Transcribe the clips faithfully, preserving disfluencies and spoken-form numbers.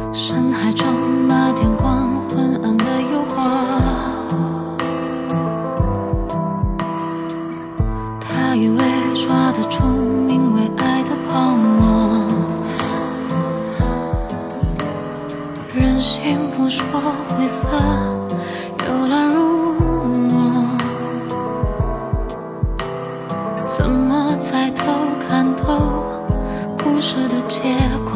深海中那点光昏暗的诱惑，他以为抓得住名为爱的泡沫，人心不说灰色，游来入魔，怎么抬头看透故事的结果？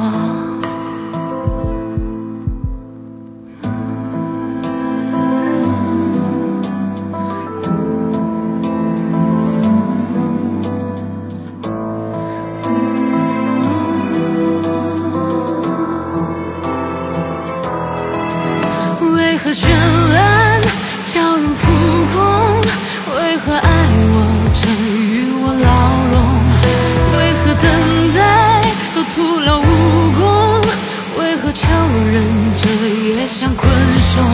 为何绚烂叫人扑空？为何爱我这与我牢笼？为何等待都徒劳无功？为何求人这也像困兽？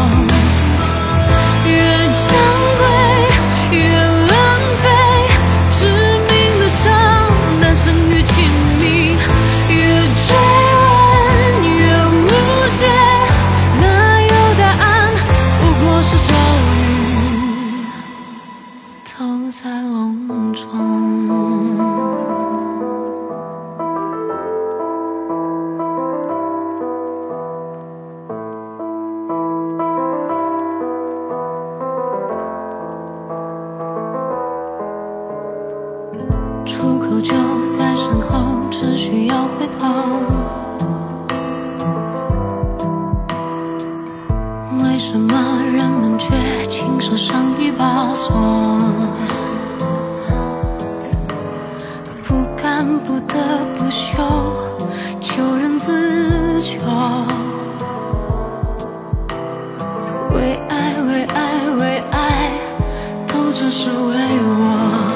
越珍贵越浪费，致命的伤诞生于亲密，越追问越无解，哪有答案？不过是咒语投在笼中。出口就在身后，只需要回头。为什么人们却轻手上一把锁？不干不得不休，求人自救。为爱为爱为爱，都只是为我。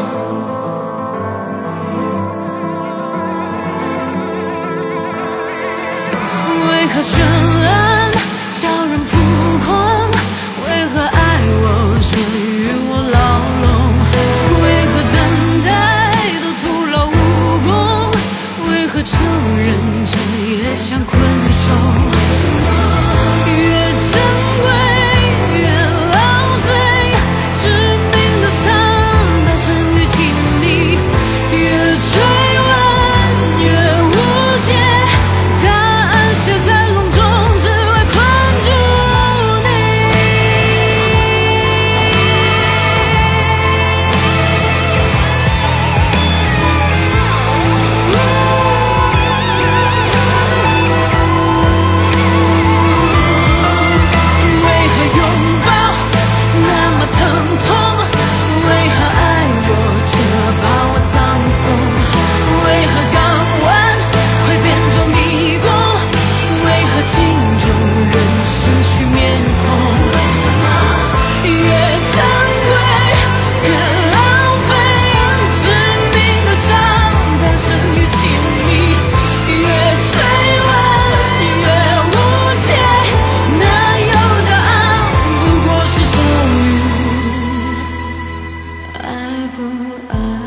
为何绚烂叫人扑空？为何爱我却与我牢笼？为何等待都徒劳无功？为何求人这也像困兽？越珍贵越浪费，致命的伤诞生于亲密，越追问越无解，答案写在笼中，只为困住你。为何拥抱那么疼痛？为何爱我却把我葬送？为何港湾会变作迷宫？为何镜中人失去面孔？越珍贵越浪费，致命的伤诞生于亲密，越追问越无解，哪有答案？不过是咒语，爱不爱？